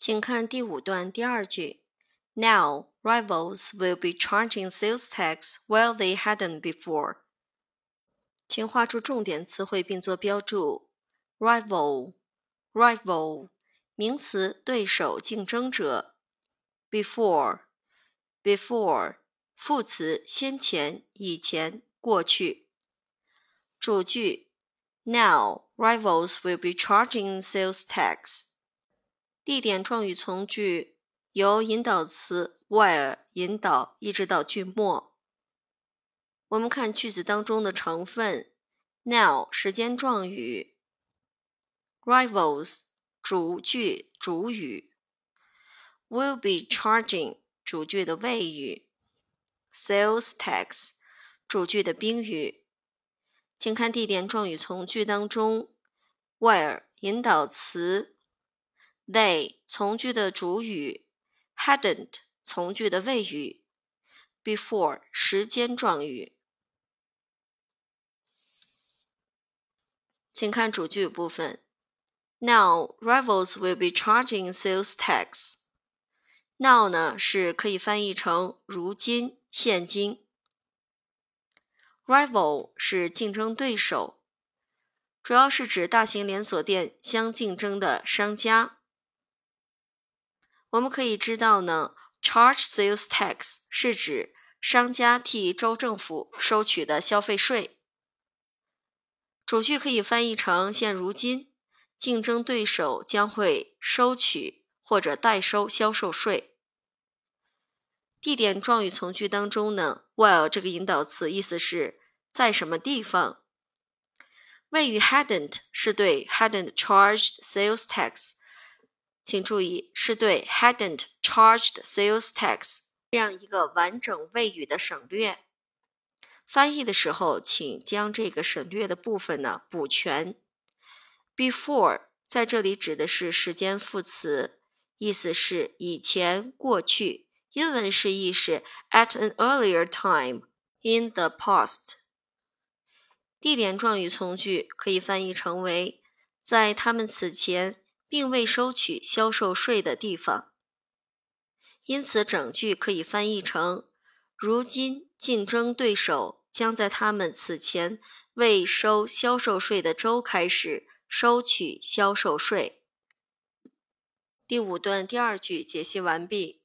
请看第5段第2句。Now, rivals will be charging sales tax while they hadn't before. 请画出重点词汇并做标注。Rival, rival, 名词，对手、竞争者。Before, before, 副词，先前、以前、过去。主句 Now, rivals will be charging sales tax. 地点状语从句由引导词 while 引导一直到句末。我们看句子当中的成分。Now 时间状语， rivals 主句主语， will be charging 主句的谓语， sales tax 主句的宾语。请看地点状语从句当中 where 引导词， they 从句的主语， hadn't 从句的谓语， before 时间状语。请看主句部分。Now, rivals will be charging sales tax. Now 呢是可以翻译成如今、现今。Rival 是竞争对手，主要是指大型连锁店相竞争的商家。我们可以知道呢 ，charge sales tax 是指商家替州政府收取的消费税。主句可以翻译成现如今，竞争对手将会收取或者代收销售税。地点状语从句当中呢 while 这个引导词意思是在什么地方。谓语 hadn't 是对 hadn't charged sales tax， 请注意是对 hadn't charged sales tax 这样一个完整谓语的省略。翻译的时候，请将这个省略的部分呢补全。Before 在这里指的是时间副词，意思是以前、过去。英文释义是 at an earlier time, in the past。地点状语从句可以翻译成为在他们此前并未收取销售税的地方。因此整句可以翻译成如今竞争对手将在他们此前未收销售税的州开始收取销售税。第5段第2句解析完毕。